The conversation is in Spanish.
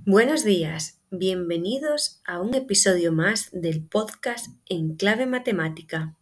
Buenos días, bienvenidos a un episodio más del podcast En Clave Matemática.